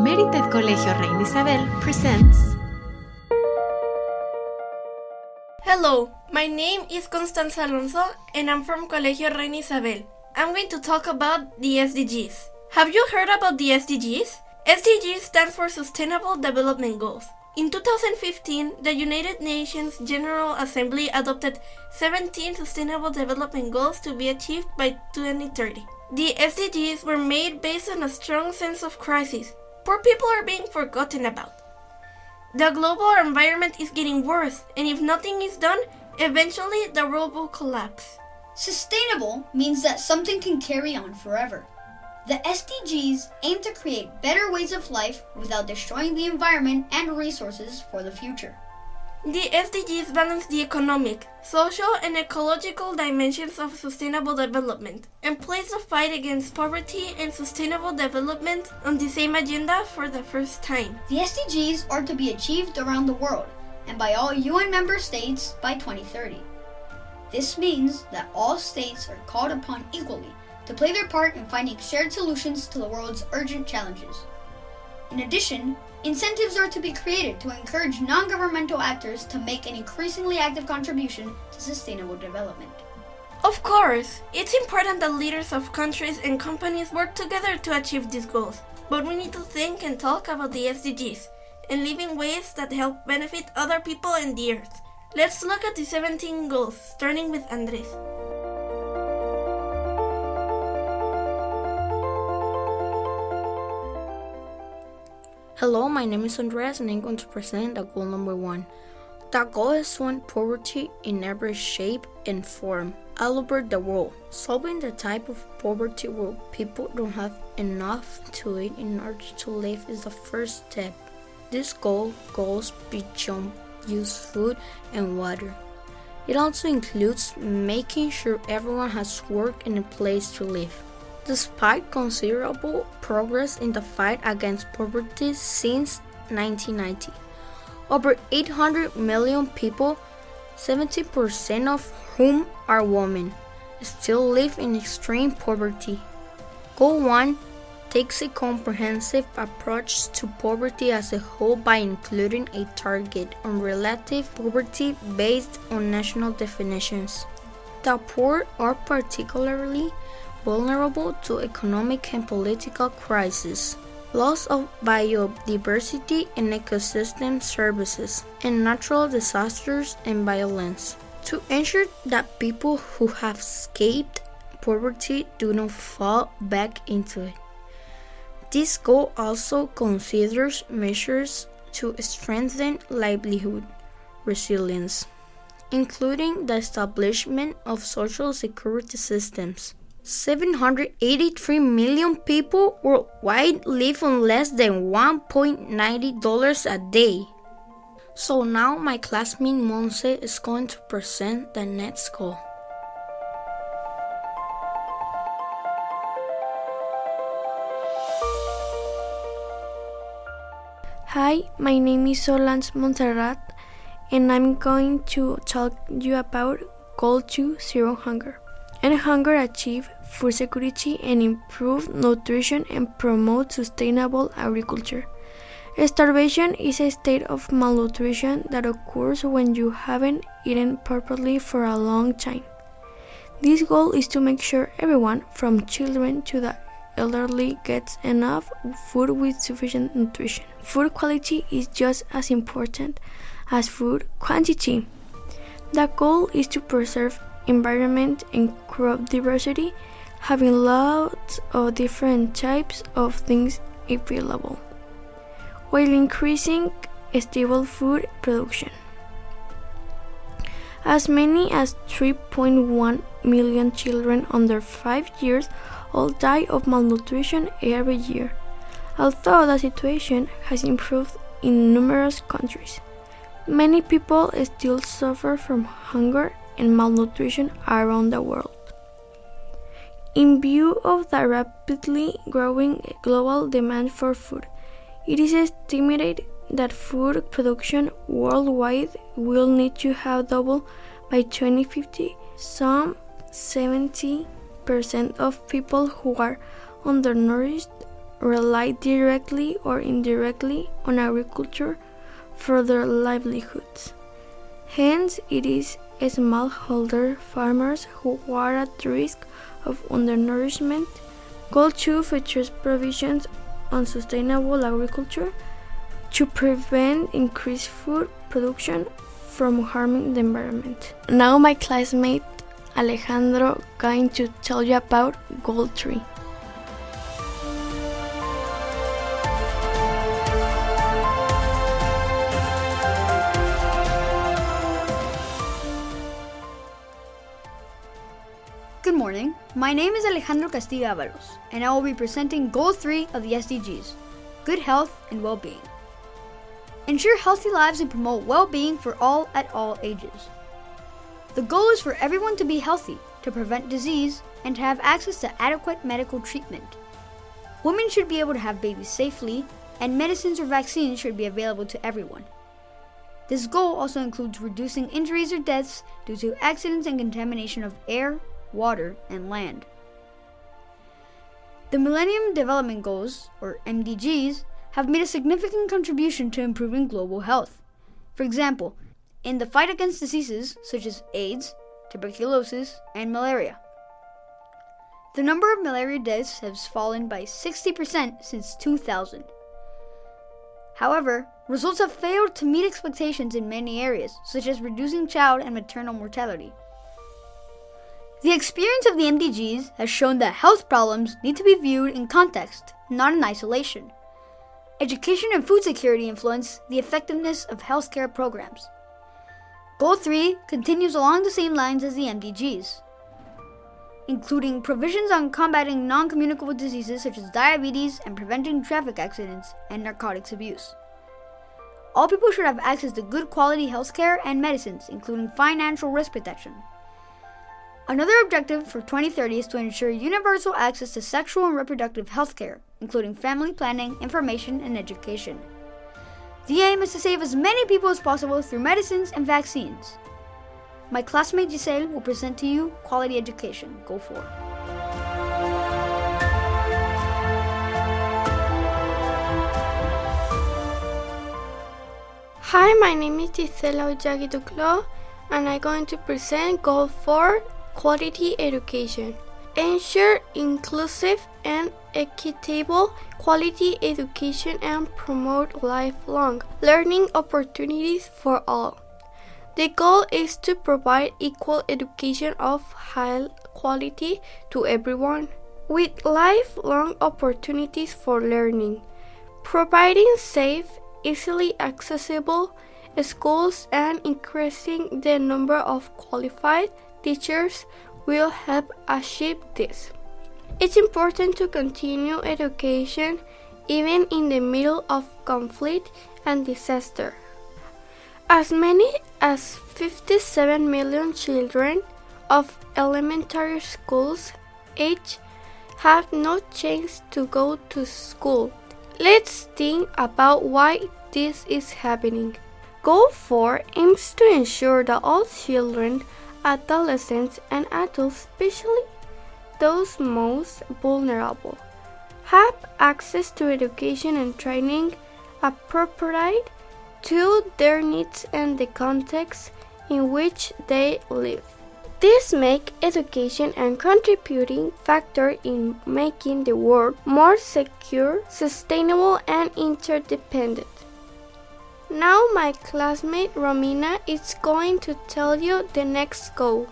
Merited Colegio Reina Isabel presents. Hello, my name is Constanza Alonso and I'm from Colegio Reina Isabel. I'm going to talk about the SDGs. Have you heard about the SDGs? SDGs stands for Sustainable Development Goals. In 2015, the United Nations General Assembly adopted 17 Sustainable Development Goals to be achieved by 2030. The SDGs were made based on a strong sense of crisis. Poor people are being forgotten about. The global environment is getting worse, and if nothing is done, eventually the world will collapse. Sustainable means that something can carry on forever. The SDGs aim to create better ways of life without destroying the environment and resources for the future. The SDGs balance the economic, social, and ecological dimensions of sustainable development and place the fight against poverty and sustainable development on the same agenda for the first time. The SDGs are to be achieved around the world and by all UN member states by 2030. This means that all states are called upon equally to play their part in finding shared solutions to the world's urgent challenges. In addition, incentives are to be created to encourage non-governmental actors to make an increasingly active contribution to sustainable development. Of course, it's important that leaders of countries and companies work together to achieve these goals, but we need to think and talk about the SDGs and live in ways that help benefit other people and the earth. Let's look at the 17 goals, starting with Andres. Hello, my name is Andres and I'm going to present the goal number 1. The goal is to end poverty in every shape and form all over the world. Solving the type of poverty where people don't have enough to eat in order to live is the first step. This goal goes beyond just food and water. It also includes making sure everyone has work and a place to live. Despite considerable progress in the fight against poverty since 1990, over 800 million people, 70% of whom are women, still live in extreme poverty. Goal 1 takes a comprehensive approach to poverty as a whole by including a target on relative poverty based on national definitions. The poor are particularly vulnerable to economic and political crises, loss of biodiversity and ecosystem services, and natural disasters and violence. To ensure that people who have escaped poverty do not fall back into it. This goal also considers measures to strengthen livelihood resilience, including the establishment of social security systems. 783 million people worldwide live on less than $1.90 a day. So now my classmate Monse is going to present the next goal. Hi, my name is Solange Montserrat and I'm going to talk you about Goal 2, Zero Hunger. End hunger, achieve food security and improve nutrition and promote sustainable agriculture. Starvation is a state of malnutrition that occurs when you haven't eaten properly for a long time. This goal is to make sure everyone, from children to the elderly, gets enough food with sufficient nutrition. Food quality is just as important as food quantity. The goal is to preserve environment and crop diversity, having lots of different types of things available, while increasing stable food production. As many as 3.1 million children under 5 years old die of malnutrition every year, although the situation has improved in numerous countries. Many people still suffer from hunger and malnutrition around the world. In view of the rapidly growing global demand for food, it is estimated that food production worldwide will need to have doubled by 2050. Some 70% of people who are undernourished rely directly or indirectly on agriculture for their livelihoods. Hence, it is smallholder farmers who are at risk of undernourishment. Goal 2 features provisions on sustainable agriculture to prevent increased food production from harming the environment. Now my classmate Alejandro going to tell you about Goal 3. Good morning, my name is Alejandro Castillo Avalos, and I will be presenting Goal 3 of the SDGs, Good Health and Well-Being. Ensure healthy lives and promote well-being for all at all ages. The goal is for everyone to be healthy, to prevent disease, and to have access to adequate medical treatment. Women should be able to have babies safely, and medicines or vaccines should be available to everyone. This goal also includes reducing injuries or deaths due to accidents and contamination of air, water, and land. The Millennium Development Goals, or MDGs, have made a significant contribution to improving global health. For example, in the fight against diseases such as AIDS, tuberculosis, and malaria. The number of malaria deaths has fallen by 60% since 2000. However, results have failed to meet expectations in many areas, such as reducing child and maternal mortality. The experience of the MDGs has shown that health problems need to be viewed in context, not in isolation. Education and food security influence the effectiveness of healthcare programs. Goal 3 continues along the same lines as the MDGs, including provisions on combating non-communicable diseases such as diabetes and preventing traffic accidents and narcotics abuse. All people should have access to good quality healthcare and medicines, including financial risk protection. Another objective for 2030 is to ensure universal access to sexual and reproductive health care, including family planning, information, and education. The aim is to save as many people as possible through medicines and vaccines. My classmate Giselle will present to you Quality Education, Goal 4. Hi, my name is Gisela Ollagui Duclos, and I'm going to present Goal 4, Quality Education. Ensure inclusive and equitable quality education and promote lifelong learning opportunities for all. The goal is to provide equal education of high quality to everyone, with lifelong opportunities for learning, providing safe, easily accessible schools and increasing the number of qualified teachers will help achieve this. It's important to continue education even in the middle of conflict and disaster. As many as 57 million children of elementary schools age have no chance to go to school. Let's think about why this is happening. Goal 4 aims to ensure that all children, adolescents, and adults, especially those most vulnerable, have access to education and training appropriate to their needs and the context in which they live. This makes education a contributing factor in making the world more secure, sustainable, and interdependent. Now my classmate Romina is going to tell you the next goal.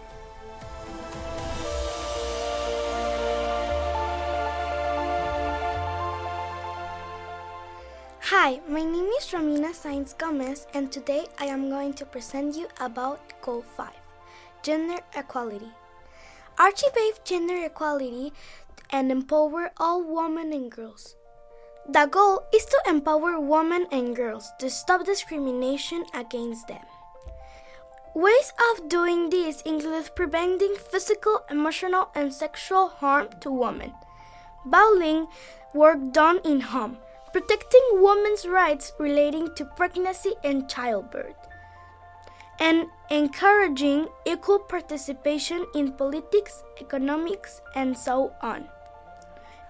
Hi, my name is Romina Sainz Gomez, and today I am going to present you about Goal 5, Gender Equality. Achieve gender equality and empower all women and girls. The goal is to empower women and girls to stop discrimination against them. Ways of doing this include preventing physical, emotional, and sexual harm to women, valuing work done in home, protecting women's rights relating to pregnancy and childbirth, and encouraging equal participation in politics, economics, and so on.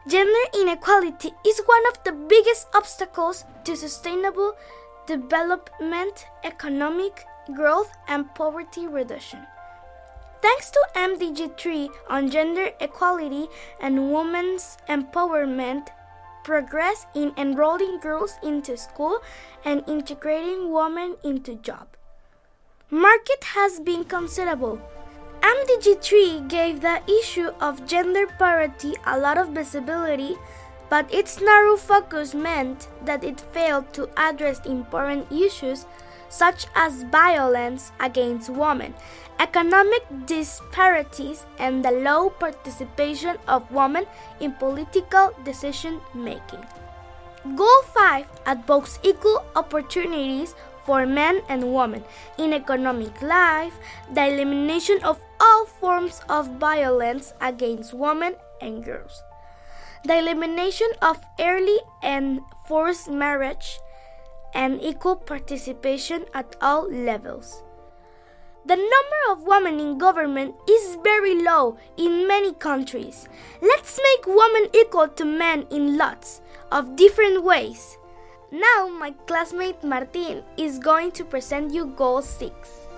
Gender inequality is one of the biggest obstacles to sustainable development, economic growth, and poverty reduction. Thanks to MDG 3 on gender equality and women's empowerment, progress in enrolling girls into school and integrating women into jobs, market has been considerable. MDG 3 gave the issue of gender parity a lot of visibility, but its narrow focus meant that it failed to address important issues such as violence against women, economic disparities, and the low participation of women in political decision-making. Goal 5 advocates equal opportunities for men and women in economic life, the elimination of all forms of violence against women and girls, the elimination of early and forced marriage, and equal participation at all levels. The number of women in government is very low in many countries. Let's make women equal to men in lots of different ways. Now my classmate Martin is going to present you Goal 6.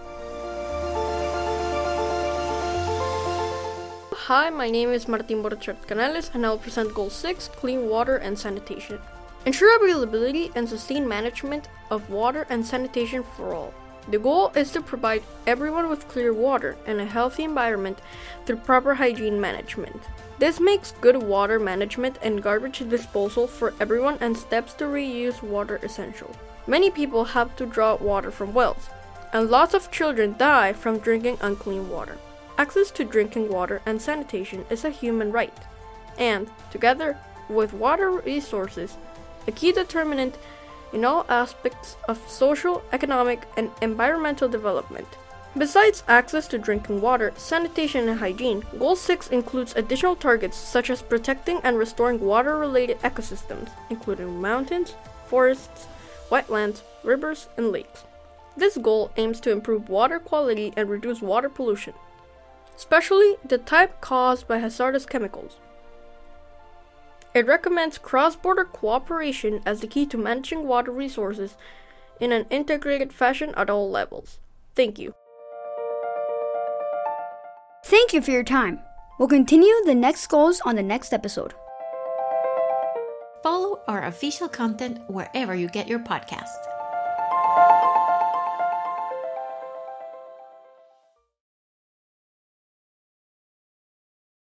Hi, my name is Martin Borchardt Canales and I will present Goal 6, Clean Water and Sanitation. Ensure availability and sustained management of water and sanitation for all. The goal is to provide everyone with clear water and a healthy environment through proper hygiene management. This makes good water management and garbage disposal for everyone, and steps to reuse water essential. Many people have to draw water from wells, and lots of children die from drinking unclean water. Access to drinking water and sanitation is a human right, and, together with water resources, a key determinant in all aspects of social, economic, and environmental development. Besides access to drinking water, sanitation, and hygiene, Goal 6 includes additional targets such as protecting and restoring water-related ecosystems, including mountains, forests, wetlands, rivers, and lakes. This goal aims to improve water quality and reduce water pollution, especially the type caused by hazardous chemicals. It recommends cross-border cooperation as the key to managing water resources in an integrated fashion at all levels. Thank you. Thank you for your time. We'll continue the next goals on the next episode. Follow our official content wherever you get your podcast.